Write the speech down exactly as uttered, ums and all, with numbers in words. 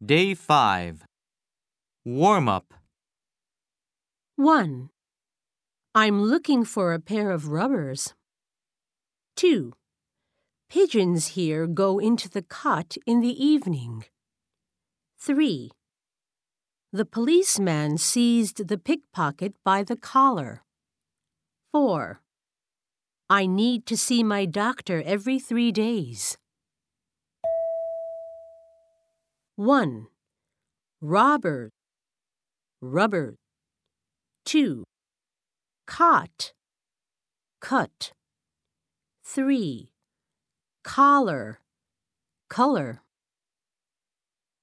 Day five. Warm-up. one. I'm looking for a pair of rubbers. two. Pigeons here go into the cot in the evening. three. The policeman seized the pickpocket by the collar. four. I need to see my doctor every three days. one. Robber, rubber. two. Cot, cut. three. Collar, color.